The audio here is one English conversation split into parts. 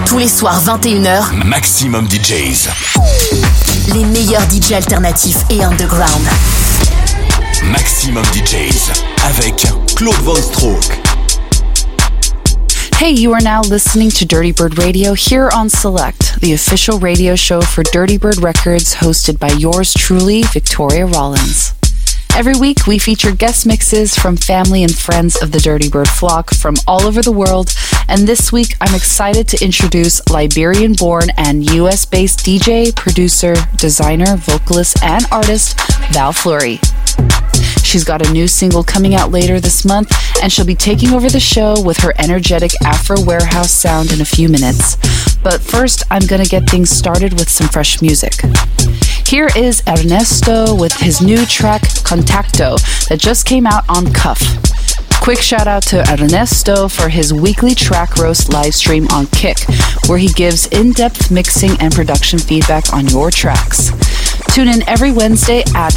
Tous les soirs 21h, Maximum DJs. Les meilleurs DJ alternatifs et underground. Maximum DJs avec Claude Von Stroke. Hey, you are now listening to Dirty Bird Radio here on Select, the official radio show for Dirty Bird Records, hosted by yours truly, Victoria Rollins. Every week, we feature guest mixes from family and friends of the Dirty Bird flock from all over the world, and this week, I'm excited to introduce Liberian-born and US-based DJ, producer, designer, vocalist, and artist, Val Fleury. She's got a new single coming out later this month, and she'll be taking over the show with her energetic Afro Warehouse sound in a few minutes. But first, I'm gonna get things started with some fresh music. Here is Ernesto with his new track, Contacto, that just came out on Cuff. Quick shout out to Ernesto for his weekly track roast live stream on Kick, where he gives in-depth mixing and production feedback on your tracks. Tune in every Wednesday at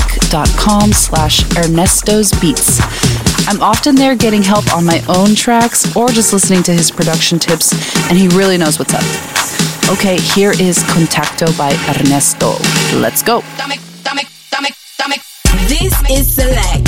kick.com/ErnestosBeats. I'm often there getting help on my own tracks or just listening to his production tips, and he really knows what's up. Okay, here is Contacto by Ernesto. Let's go. This is Select.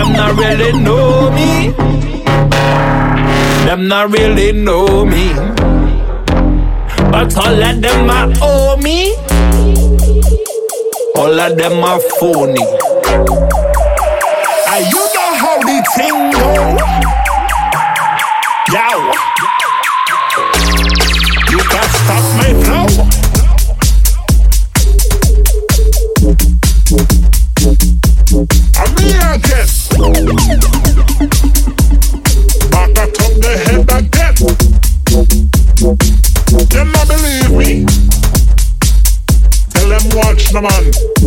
them not really know me. Them not really know me. But all of them are owe me. All of them are phony. And you know how the thing go. Yo. You can't stop my flow. I'm here again. Back atop the head again. Them not believe me. Tell them watch the man.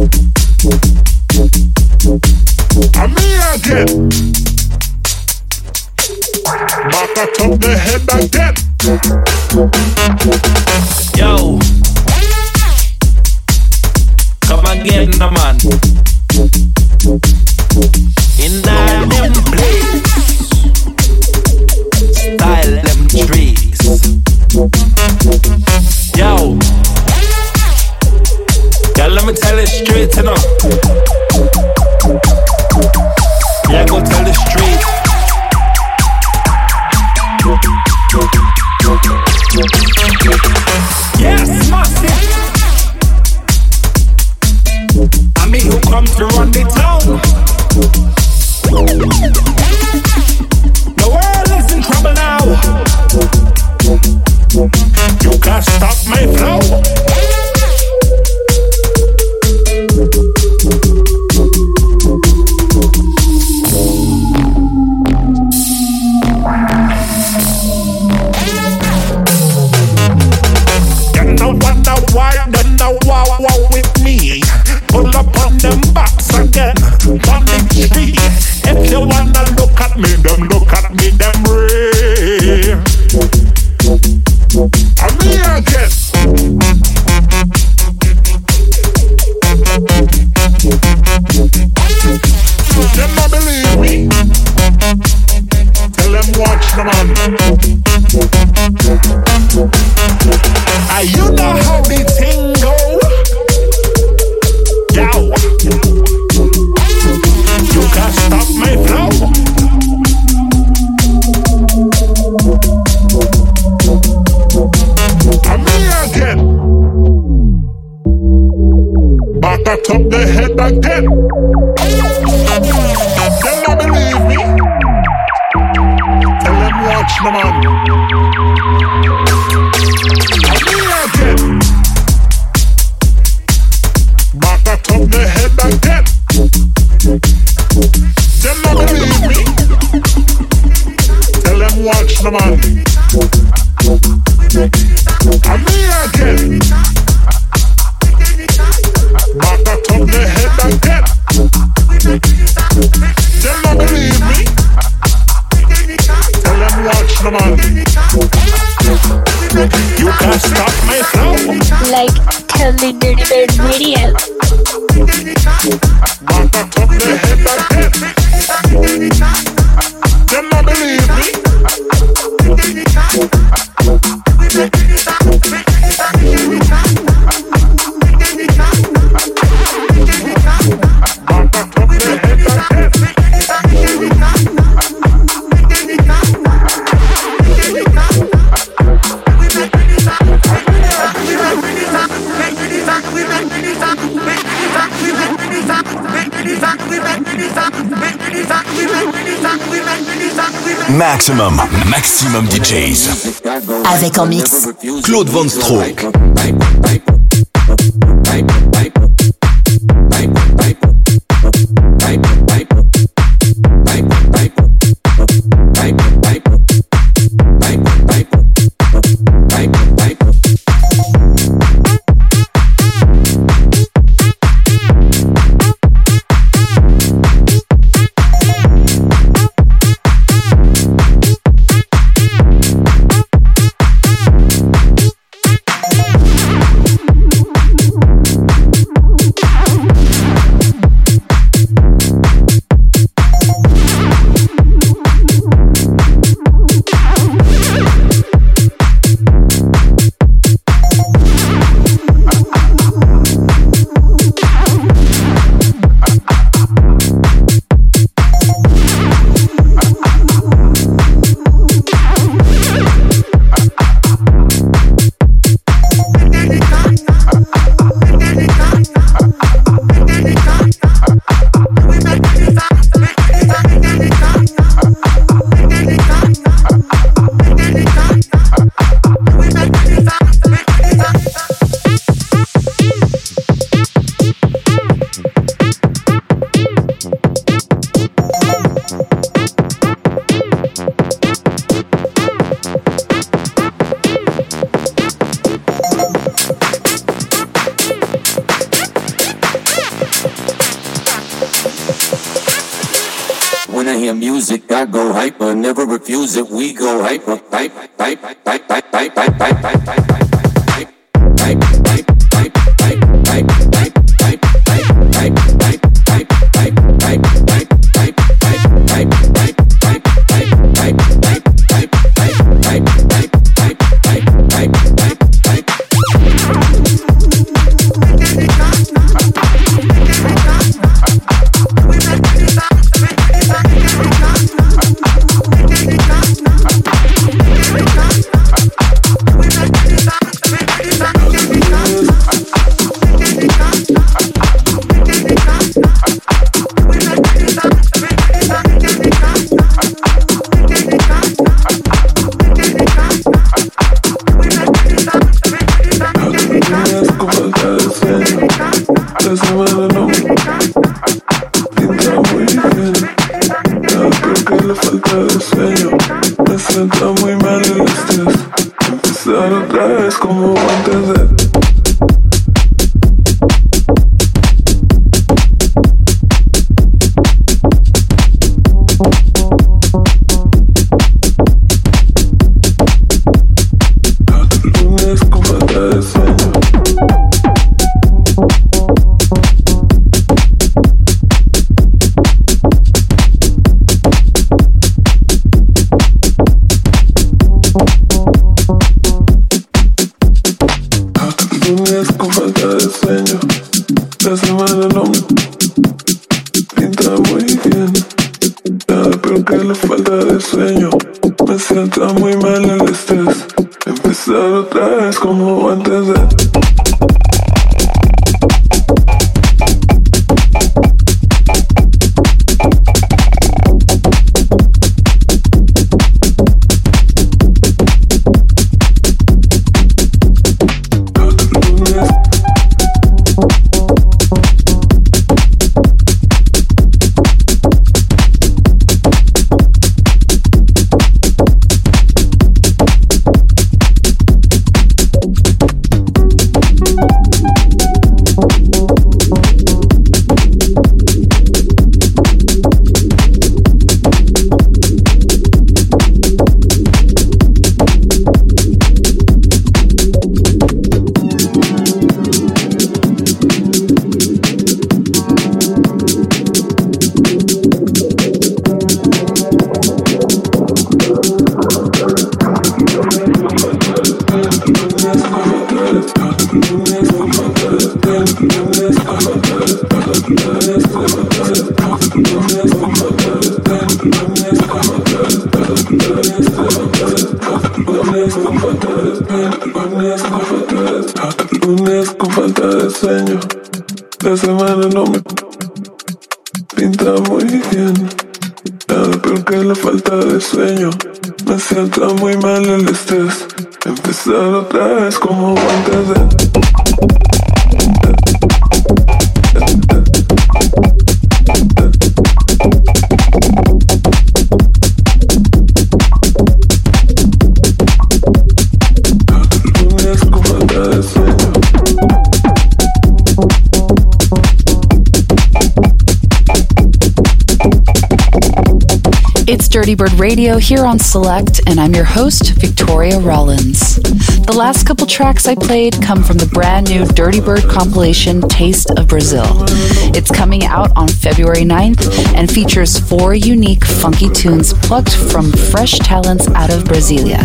I'm here again. Back atop the head again. Yo. Come again, the man. In that them place. Style them trees. Yo. Yeah, let me tell it straight, you know. Yeah, go tell the street. Yes, massive. I mean, who come to run the town? The world is in trouble now. You can't stop my flow. With me, pull up on them backs again, on the street. If you wanna look at me, them real. I'm here again. Them not believe me. Tell them watch the man. You know how the thing go. Yo. You can't stop my flow. I'm here again. Back atop the head again. Them not believe me. Tell them watch the man. Back atop the head again. Them not believe me. Tell them watch the man. I'm here again. Back atop the head again. Them not believe me. Tell them watch the man. You can't stop my flow. Like Totally Dirty Bird Radio. Back atop the head again. Them not believe me. Back atop the head again. Maximum DJs. Avec en mix Claude Von Stroke. When I hear music, I go hyper, never refuse it. We go hyper, hype, hype, hype, hype, hype, hype, hype, hype, hype, hype, hype, hype, hype, hype, hype, Dirty Bird Radio here on Select, and I'm your host, Victoria Rollins. The last couple tracks I played come from the brand new Dirty Bird compilation, Taste of Brazil. It's coming out on February 9th and features 4 unique funky tunes plucked from fresh talents out of Brasilia.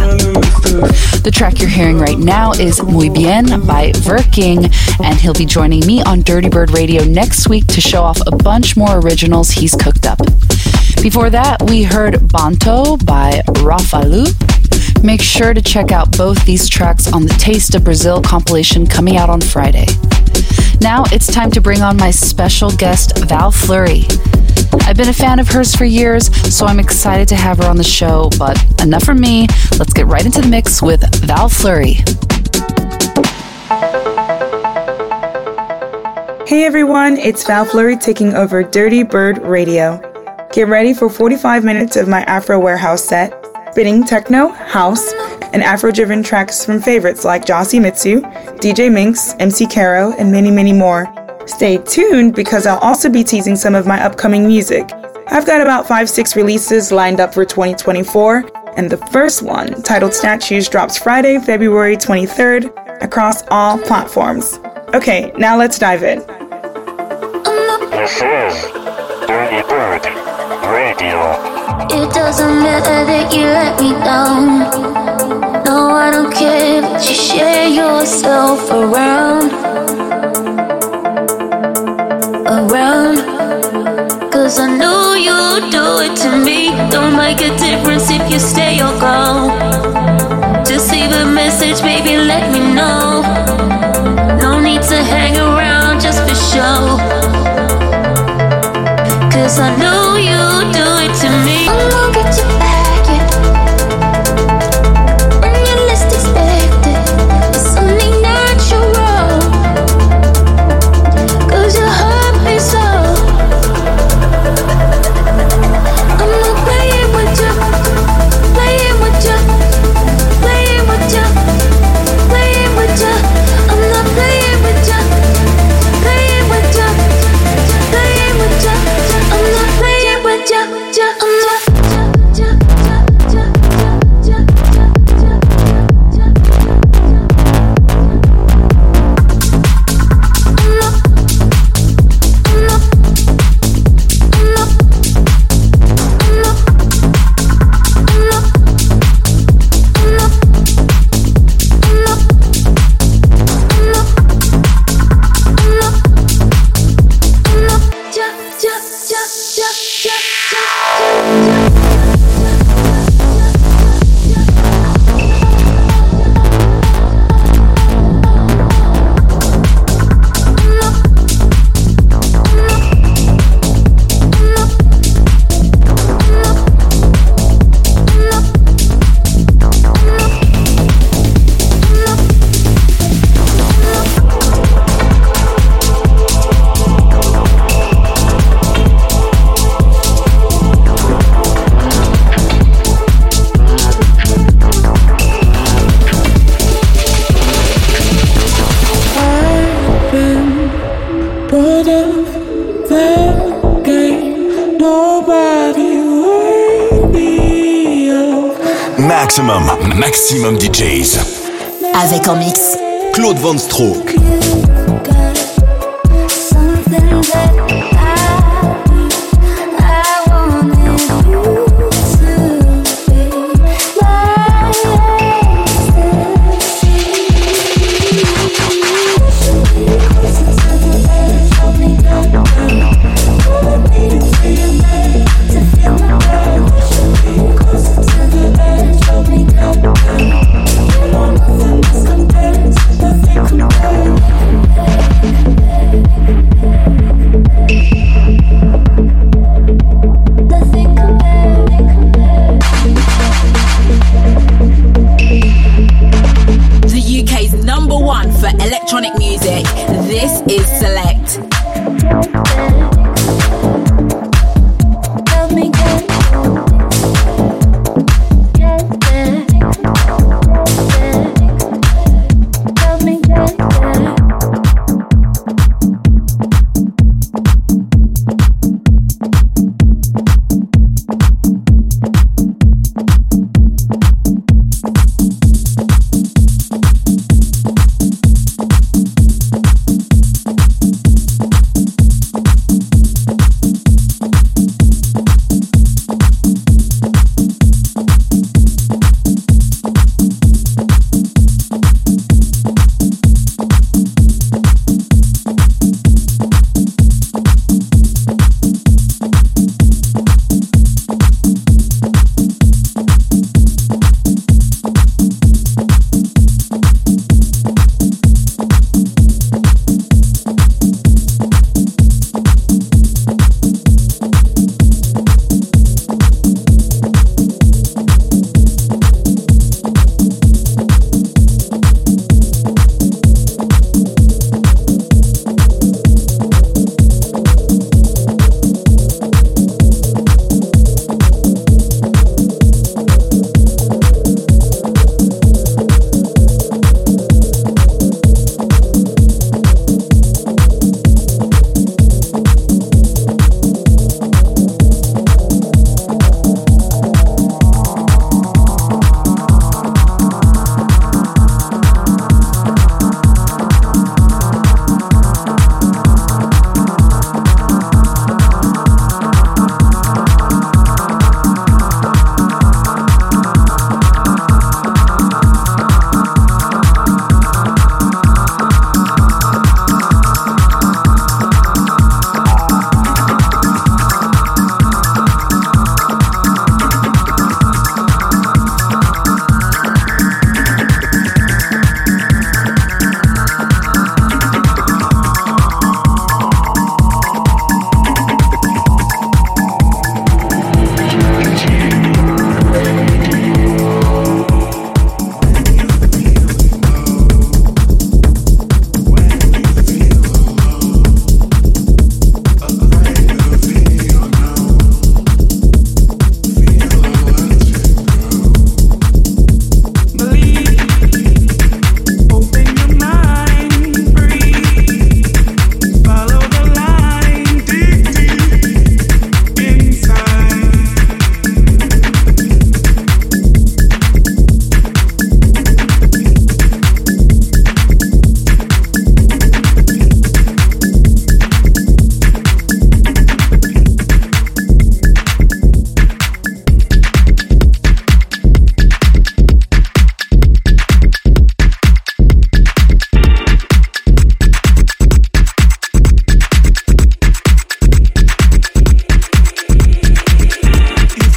The track you're hearing right now is Muy Bien by Verking, and he'll be joining me on Dirty Bird Radio next week to show off a bunch more originals he's cooked up. Before that, we heard Banto by Rafalu. Make sure to check out both these tracks on the Taste of Brazil compilation coming out on Friday. Now it's time to bring on my special guest, Val Fleury. I've been a fan of hers for years, so I'm excited to have her on the show, but enough from me. Let's get right into the mix with Val Fleury. Hey everyone, it's Val Fleury taking over Dirty Bird Radio. Get ready for 45 minutes of my Afro Warehouse set, spinning techno, house, and Afro-driven tracks from favorites like Jossie Mitsu, DJ Minx, MC Caro, and many, many more. Stay tuned because I'll also be teasing some of my upcoming music. I've got about 5-6 releases lined up for 2024, and the first one, titled Statues, drops Friday, February 23rd across all platforms. Okay, now let's dive in. This is Dirty Bird Radio. It doesn't matter that you let me down. No, I don't care that you share yourself around. Cause I know you'll do it to me. Don't make a difference if you stay or go. Just leave a message, baby, let me know. No need to hang around just for show. Cause I know you'll do it to me. I won't get you back yet. When you least expect it, it's only natural. Cause you hurt me so. I'm not playing with you, playing with you, playing with you, playing with you. I'm not playing with you, playing with you, playing with you. I'm not playing with you, I'm not. Maximum DJs. Avec en mix Claude Van Stroke. Nothing compares, nothing compares.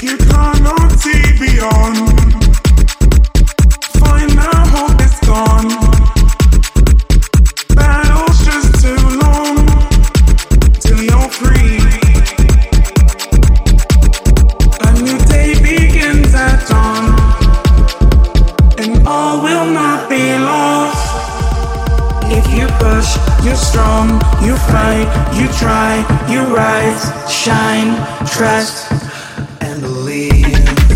you cannot see beyond, find that hope is gone. Battle's just too long till you're free. A new day begins at dawn, and all will not be lost. If you push, you're strong, you fight, you try, you rise, shine, trust, and believe.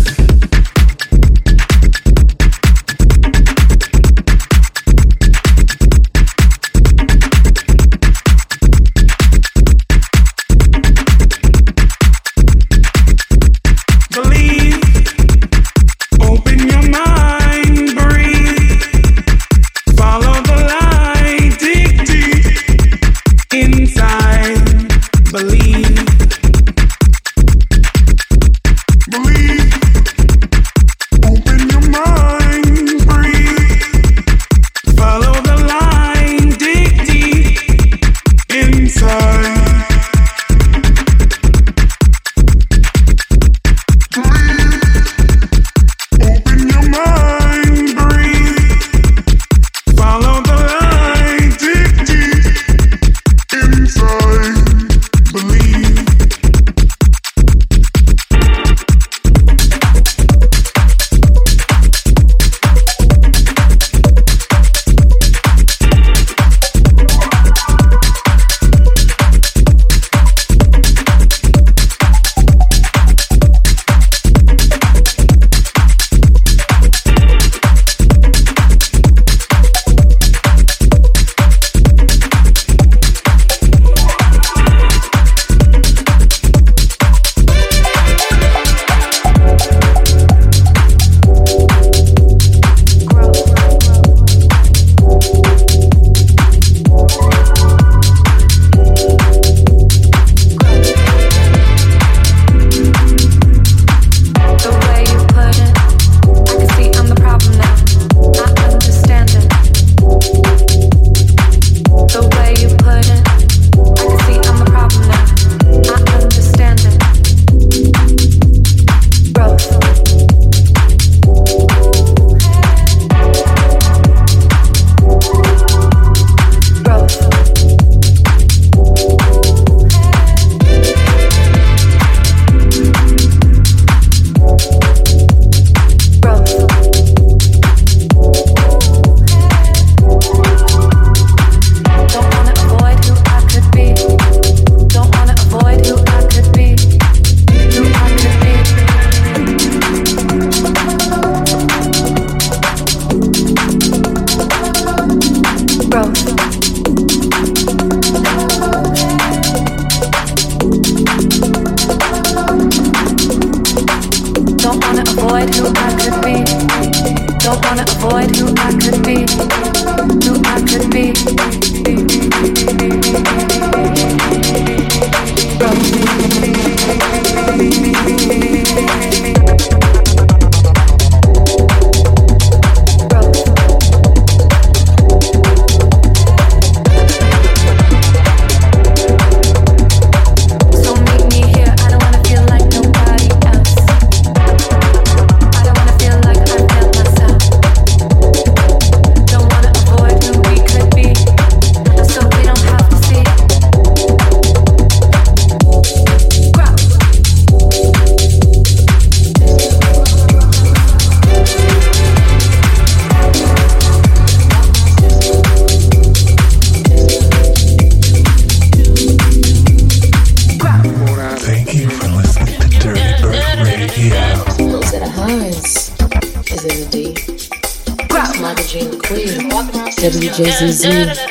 WJZZ,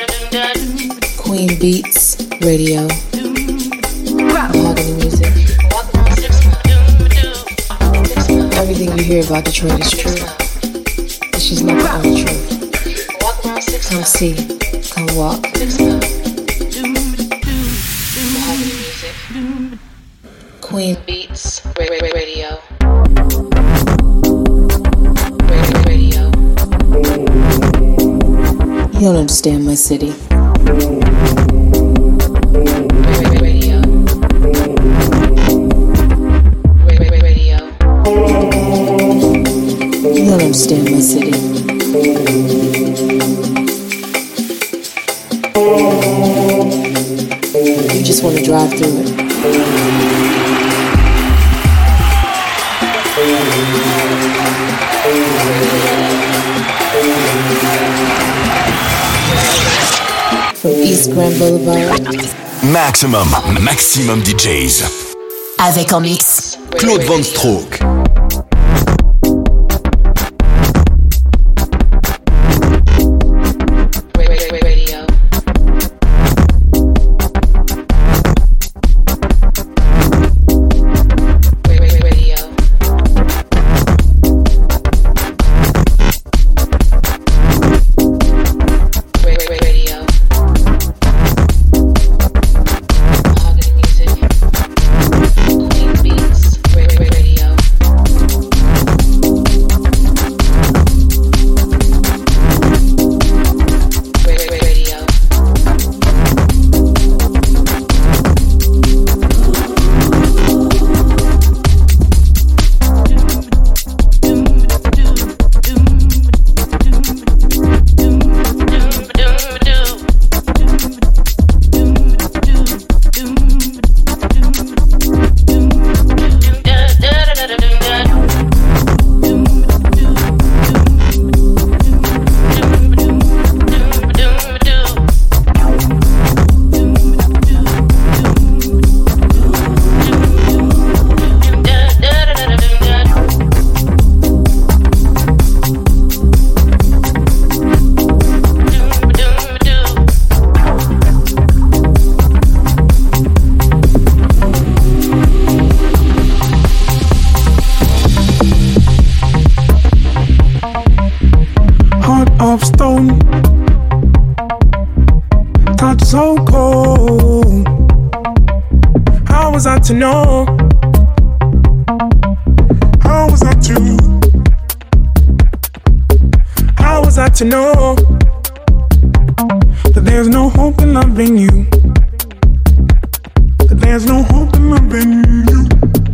Queen Beats Radio, Mahogany Music. Everything you hear about Detroit is true. It's just not the only truth. Come see, come walk. Mahogany Music, Queen Beats Radio. You don't understand my city. Radio. understand my city. You just want to drive through it. From East Grand Boulevard. Maximum DJs. Avec en mix Claude Van Stroke. Of stone, touch so cold. How was I to know? How was I to? How was I to know that there's no hope in loving you? That there's no hope in loving you.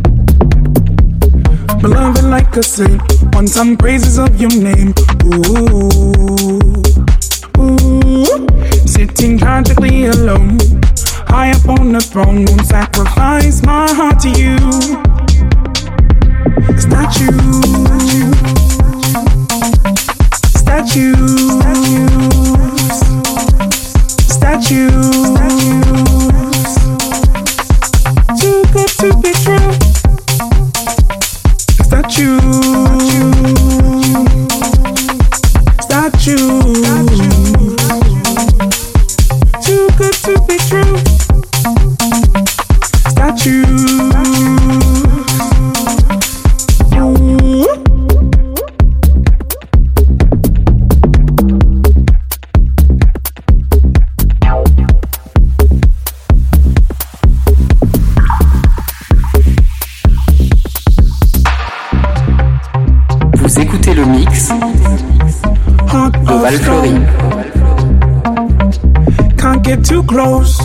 Beloved like a saint, want some praises of your name. Ooh, ooh, sitting tragically alone, high up on the throne, won't sacrifice my heart to you. It's not you, statues, too good to be true. It's not you. Too good to be true. Statues. Vous écoutez le mix de Val Fleury. Can't get too close.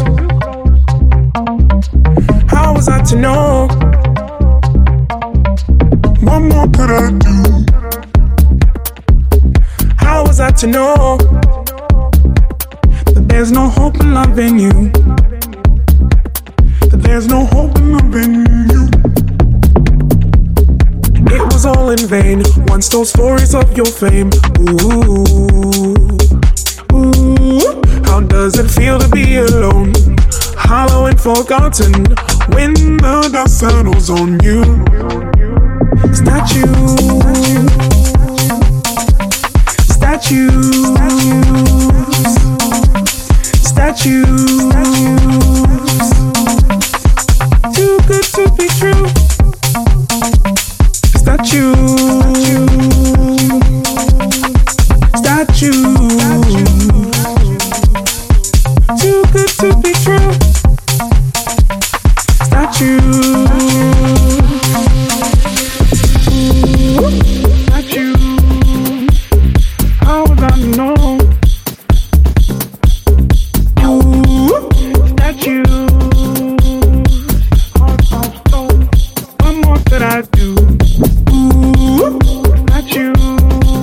How was I to know? What more could I do? How was I to know that there's no hope in loving you? That there's no hope in loving you. It was all in vain, once told stories of your fame. Ooh, ooh, how does it feel to be alone, hollow and forgotten, when the dust settles on you? Statues, too good to be true. Statue, too good to be true. Statue, how would I know? Statue, heart of stone. What more could I do? Statue.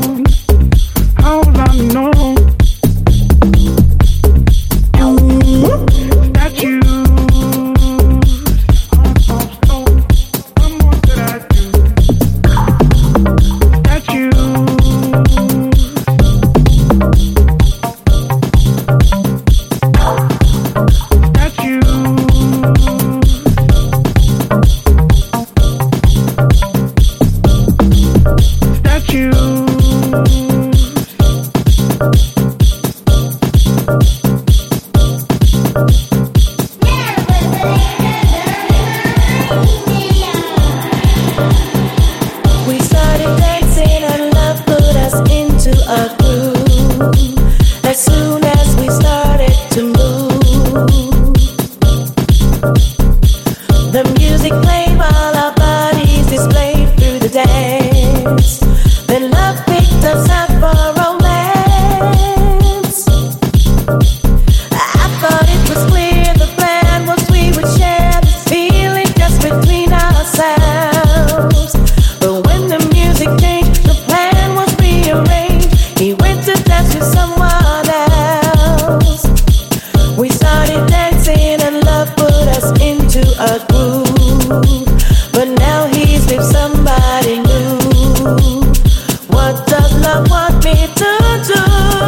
with somebody new. What does love want me to do?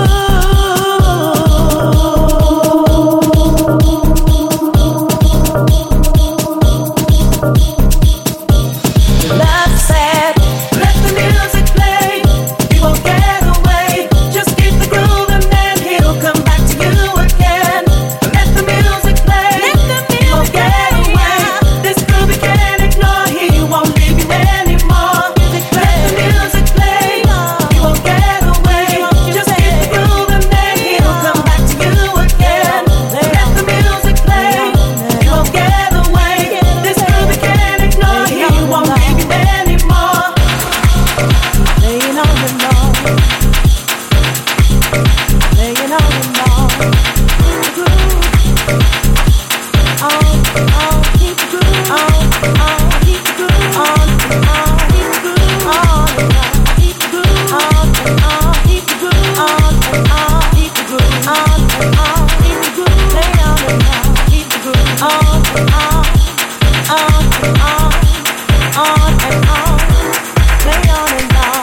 Love said, let the music play. He won't get away. Just keep the groove and then he'll come back to you again. Let the music play. He won't get away. This groove he can't ignore. He won't leave you anymore. Let the music play. He won't get away. Just keep the groove and then he'll come back to you again. Let the music play. He won't get away. This groove he can't ignore. He won't leave you anymore. Laying on the lawn. Laying on the lawn. The groove. Keep the groove. Keep the groove. Keep the groove. Keep the groove. Keep the groove. Keep the groove. Keep the groove. Lay on the lawn. Keep the groove. On and on. Lay on and on.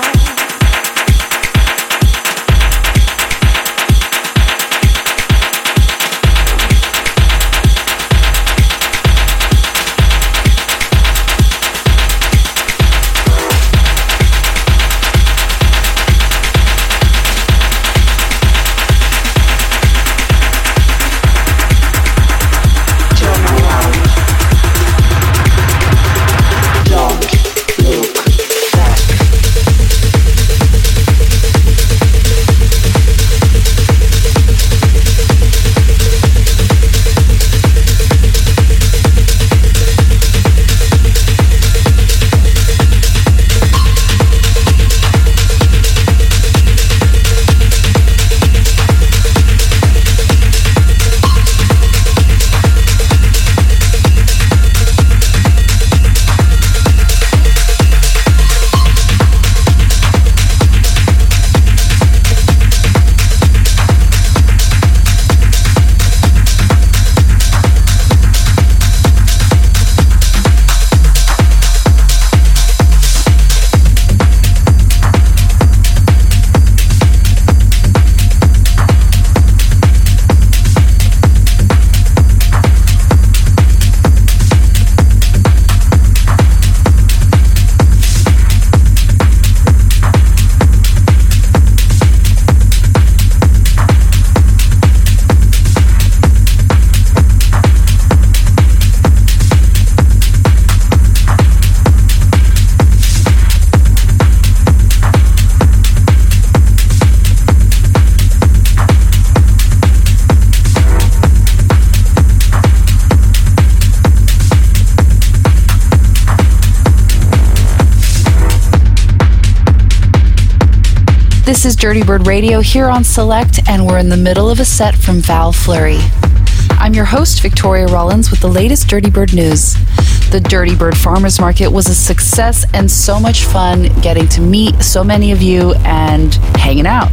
This is Dirty Bird Radio here on Select, and we're in the middle of a set from Val Fleury. I'm your host, Victoria Rollins, with the latest Dirty Bird news. The Dirty Bird Farmers Market was a success and so much fun getting to meet so many of you and hanging out.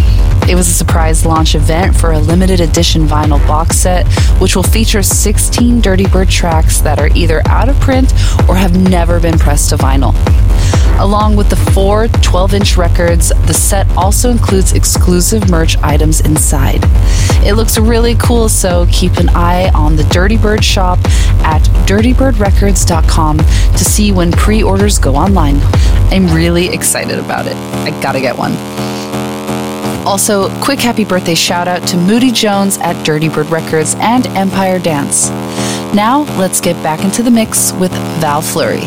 It was a surprise launch event for a limited edition vinyl box set, which will feature 16 Dirty Bird tracks that are either out of print or have never been pressed to vinyl. Along with the 4 12-inch records, the set also includes exclusive merch items inside. It looks really cool, so keep an eye on the Dirty Bird shop at dirtybirdrecords.com to see when pre-orders go online. I'm really excited about it. I gotta get one. Also, quick happy birthday shout out to Moody Jones at Dirty Bird Records and Empire Dance. Now, let's get back into the mix with Val Fleury.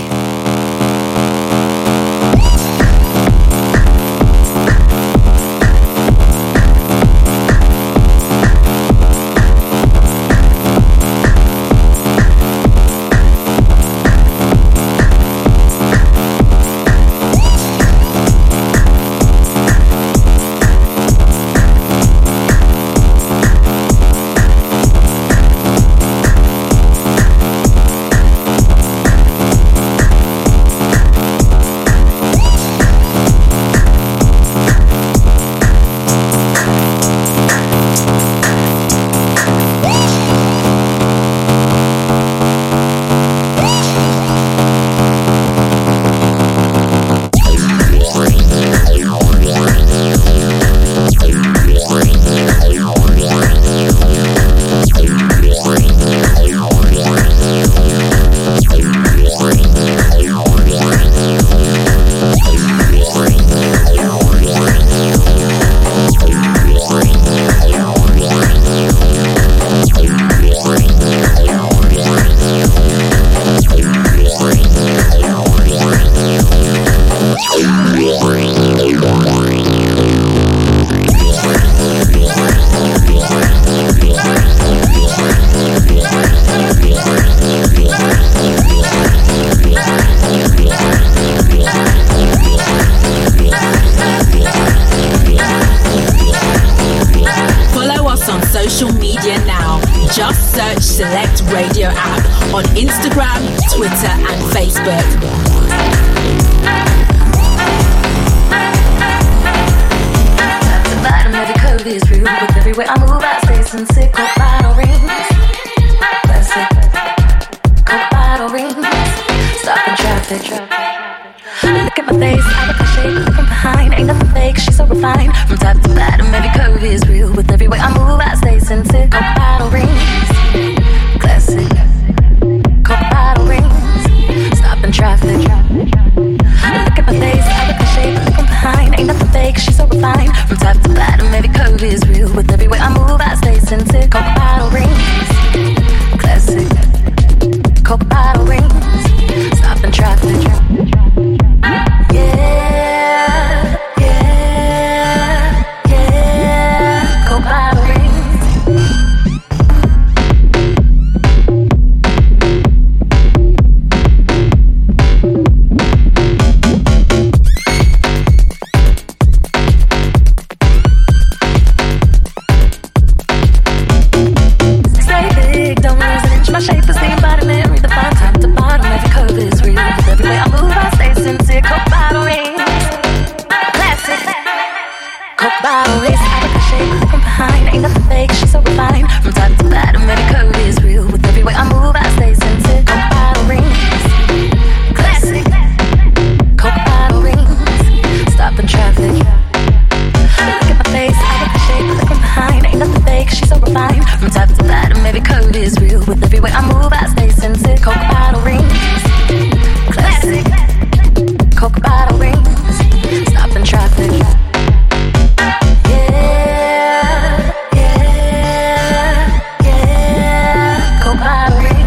Look at my face, I look like shape, look from behind. Ain't nothing fake, she's so refined. From top to bottom, every curve is real. With every way I move, I stay sensitive. Coke bottle rings, classic. Coke bottle rings, stopping traffic. Look at my face, I look like shape, look from behind. Ain't nothing fake, she's so refined. From top to bottom, every curve is real. With every way I move, I stay sensitive. Coke bottle rings, classic. Coke bottle rings, stopping traffic. Yeah, yeah, yeah. Coke bottle rings. Stay big, don't lose an inch. My shape is the embodiment. Read the fine top to bottom. Every curve is real. With every way I move, I stay sincere. Coke bottle rings, classic. Coke bottle rings. I look like shape, look from behind. Ain't nothing fake, she's so refined. From top to bottom, every curve is real. With every way I move, I stay sincere. Coke bottle rings, classic. Coke bottle rings, stopping traffic. Look at my face, I look like shape, look from behind. Ain't nothing fake, she's so refined. From top to bottom, every curve is real. With every way I move, I stay sincere. Coke bottle rings, classic. Coke bottle rings, stopping traffic. Yeah, yeah, yeah. Coke bottle rings.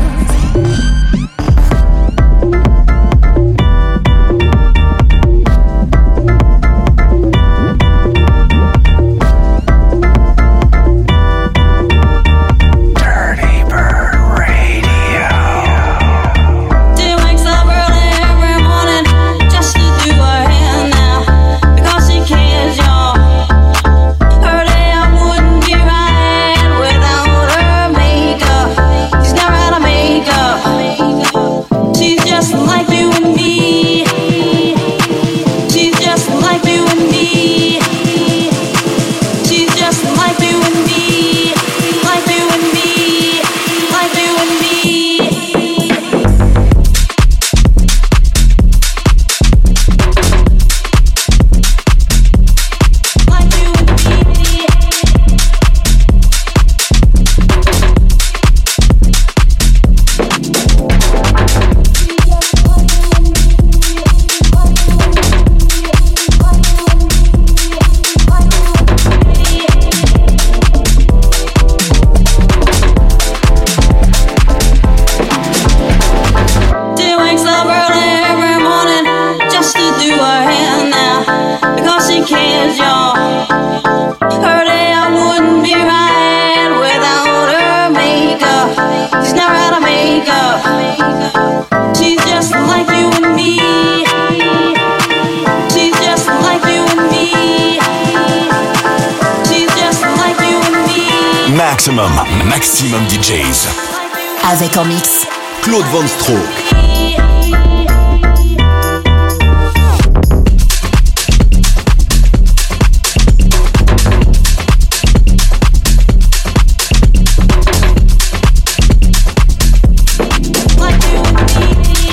Dirty Bird Radio. She wakes up early every morning just to do her hair now because she cares, y'all. Her day I wouldn't be right without her makeup. She's never had a makeup. She's just like you and me. She's just like you and me. She's just like you and me. Like you and me. Like you and me. Like you and me. She wakes up early every morning just to do her hair now because she cares, y'all. Her day I wouldn't be right without her makeup. She's never had a makeup. She's just like you and me. She's just like you and me. She's just like you and me. Maximum DJs. Avec en mix Claude Von Stroke. Like you and me.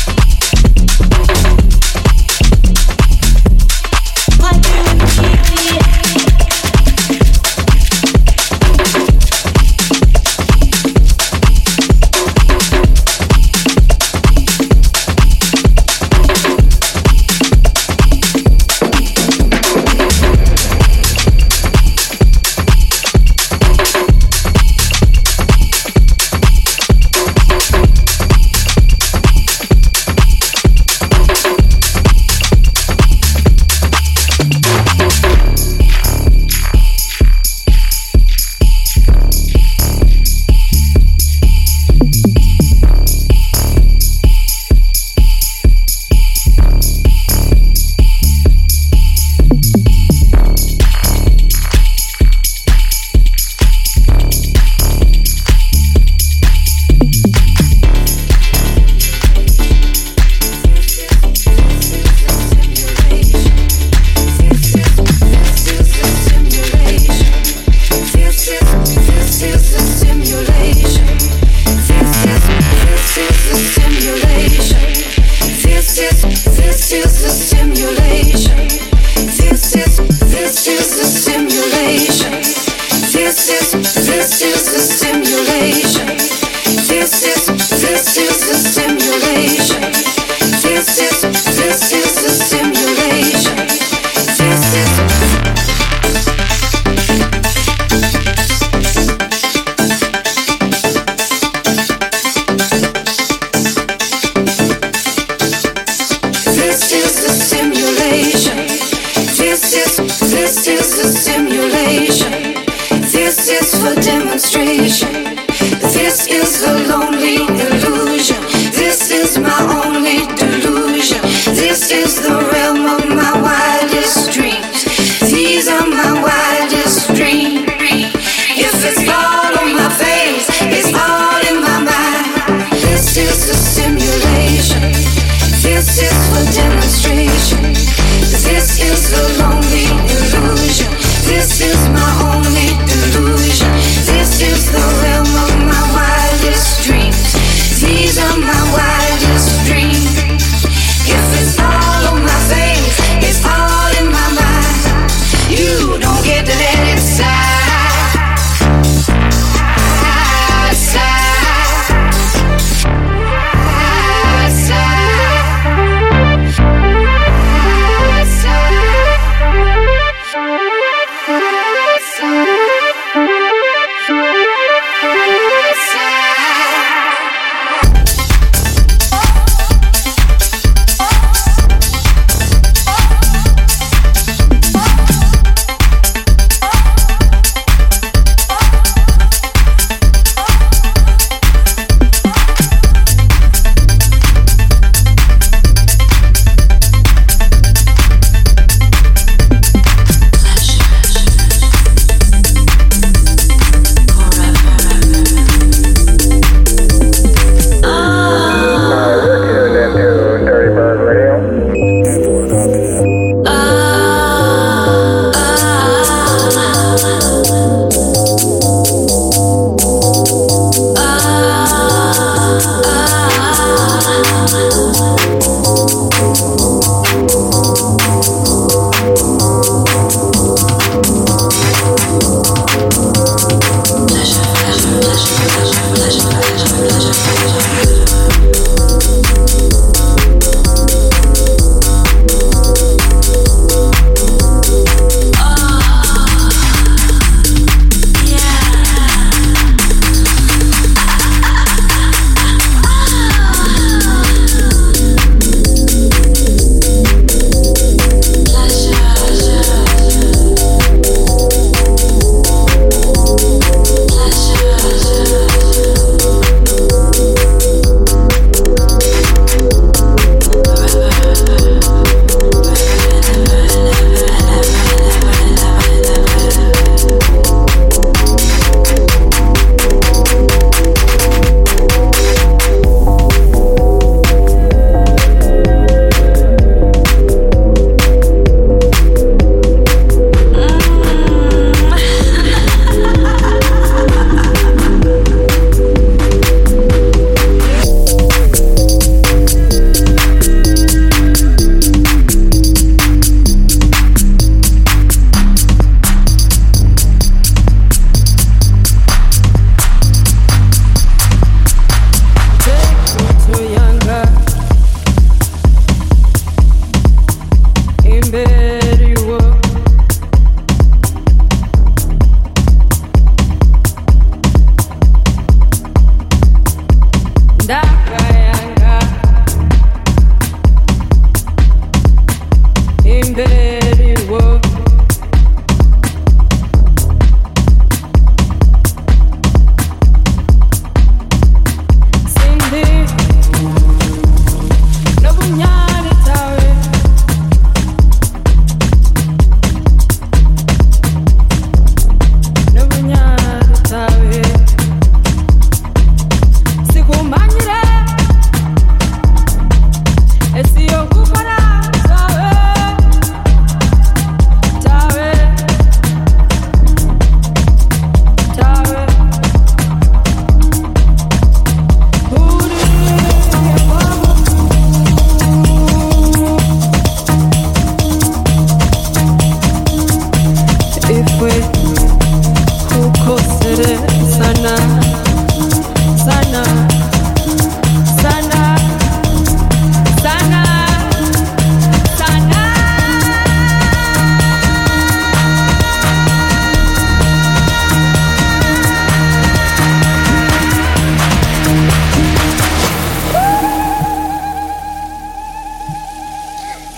Like you and me.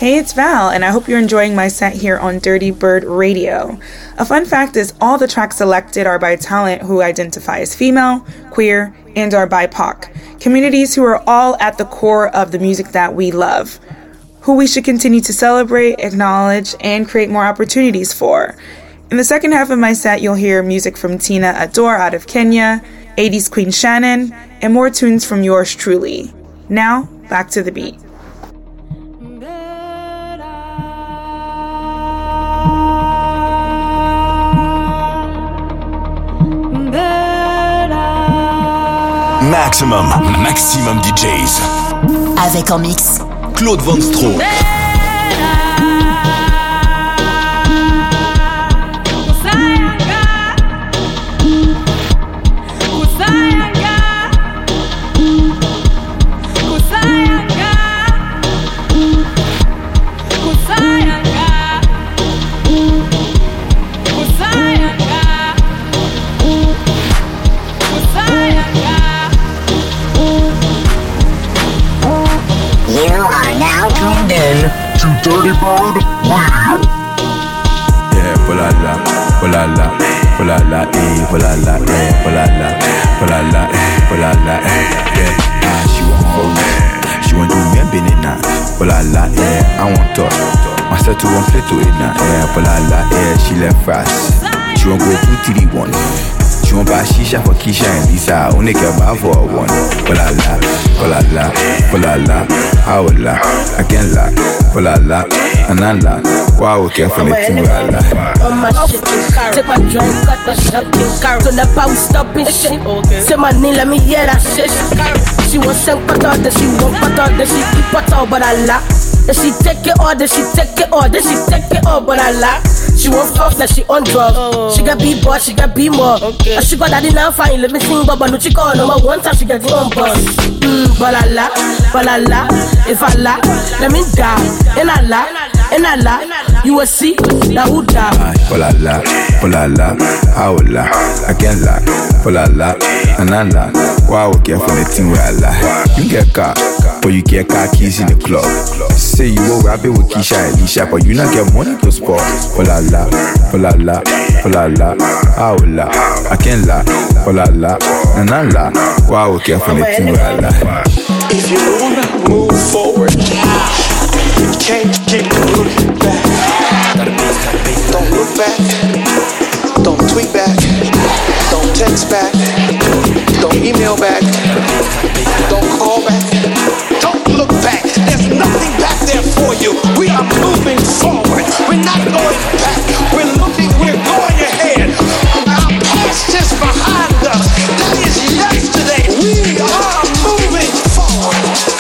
Hey, it's Val, and I hope you're enjoying my set here on Dirty Bird Radio. A fun fact is all the tracks selected are by talent who identify as female, queer, and are BIPOC, communities who are all at the core of the music that we love, who we should continue to celebrate, acknowledge, and create more opportunities for. In the second half of my set, you'll hear music from Tina Adore out of Kenya, 80s Queen Shannon, and more tunes from yours truly. Now, back to the beat. Maximum DJs. Avec en mix Claude Van Stroke. Dirty Bird Radio. Yeah, polala, polala, polala, polala, polala, polala, polala, yeah. She want fuck, she want do me a banana. Polala, yeah, I want talk. Myself to one play to it now. Yeah, polala, yeah, she left fast. She want go 2, 3, 1. She want buy shisha for Keisha and Lisa. Only care about for one. Polala, polala, polala, howla, I can't lie. Polala, anala, wow, careful, it's in la. On my shit, take my drink, cut the shit, turn the power, stop and shit. Say my name, let me hear that shit. She want some butter, then she want butter, then she keep butter, but I lie. Then she take it all, then she take it all, then she take it all, but I lie. She want fuck, that she on drugs. She got B-boy, she got B-more. She got daddy now fine, let me sing, but no she call number one time, she got the on bus. But I lie, if I lie, let me die. And I lie, you will see that who die. Polala, polala, howla, I can't lie. Polala, anala, wow, careful, it's in where I lie. You get car, but you get car keys in the club. Say you will rap it with Keisha and Lisha, but you not get money to sport. Polala, polala, polala, howla, I can't lie. Polala, anala, wow, careful, it's in where I lie. If you wanna move forward, you can't keep looking back. Don't look back. Don't tweet back. Don't text back. Don't email back. Don't call back. Don't look back. There's nothing back there for you. We are moving forward. We're not going back. We're looking. We're going ahead. Our past is behind us. That is yesterday. We are moving forward.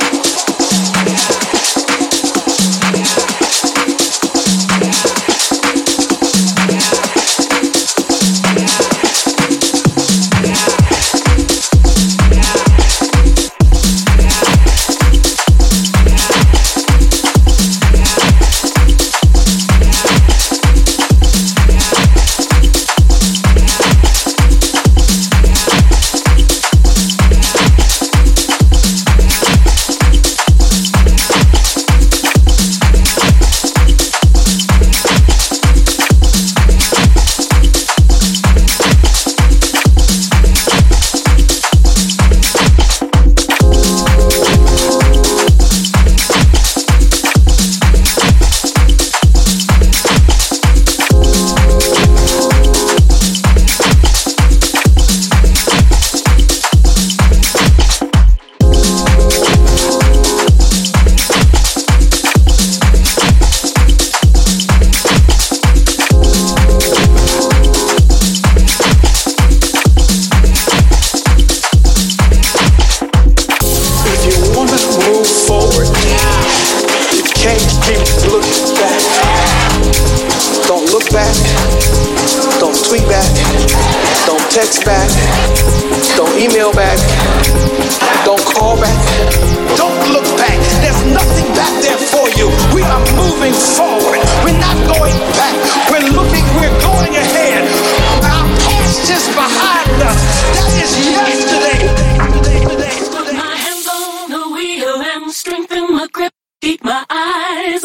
text back. Don't email back. Don't call back. Don't look back. There's nothing back there for you. We are moving forward. We're not going back. We're looking, we're going ahead. Our past is behind us. That is yesterday. Put my hands on the wheel and strengthen my grip. Keep my eyes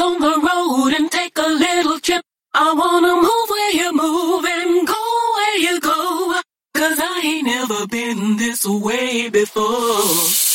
go, 'cause I ain't never been this way before.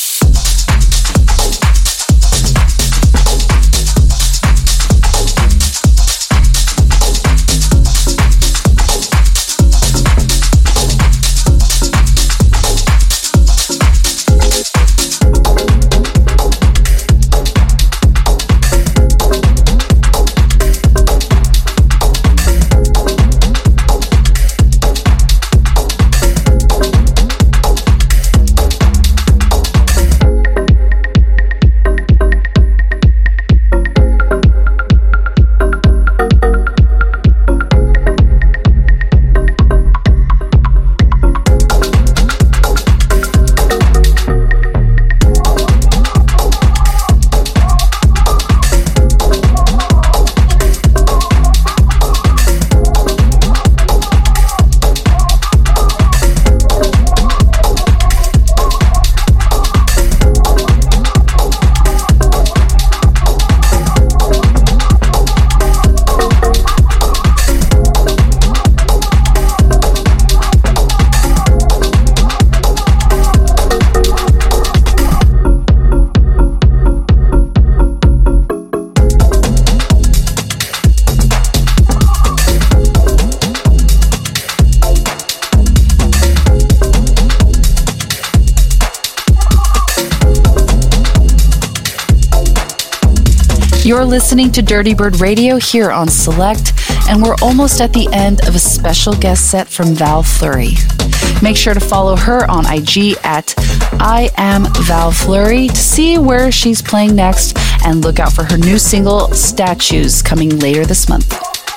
You're listening to Dirty Bird Radio here on Select, and we're almost at the end of a special guest set from Val Fleury. Make sure to follow her on IG at I am Val Fleury to see where she's playing next, and look out for her new single, Statues, coming later this month.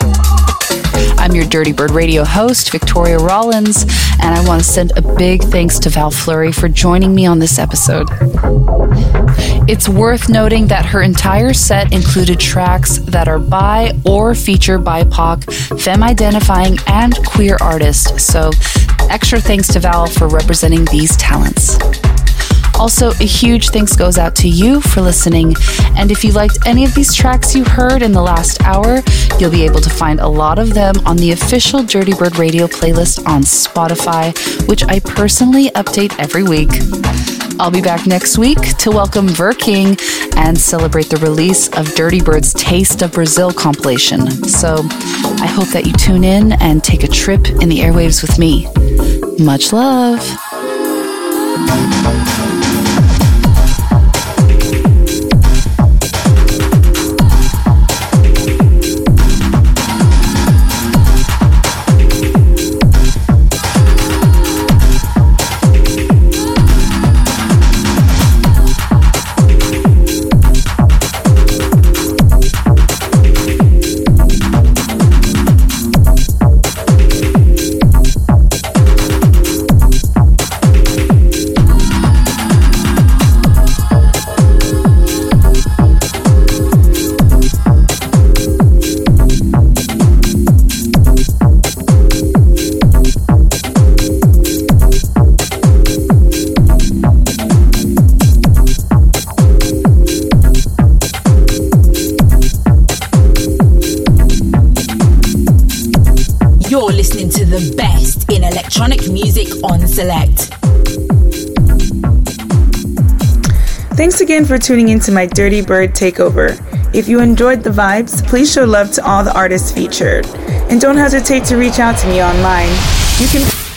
I'm your Dirty Bird Radio host, Victoria Rollins, and I want to send a big thanks to Val Fleury for joining me on this episode. It's worth noting that her entire set included tracks that are by or feature BIPOC, femme-identifying, and queer artists, so extra thanks to Val for representing these talents. Also, a huge thanks goes out to you for listening, and if you liked any of these tracks you heard in the last hour, you'll be able to find a lot of them on the official Dirty Bird Radio playlist on Spotify, which I personally update every week. I'll be back next week to welcome Ver King and celebrate the release of Dirty Bird's Taste of Brazil compilation. So I hope that you tune in and take a trip in the airwaves with me. Much love. Select. Thanks again for tuning into my Dirty Bird Takeover. If you enjoyed the vibes, please show love to all the artists featured. And don't hesitate to reach out to me online. You can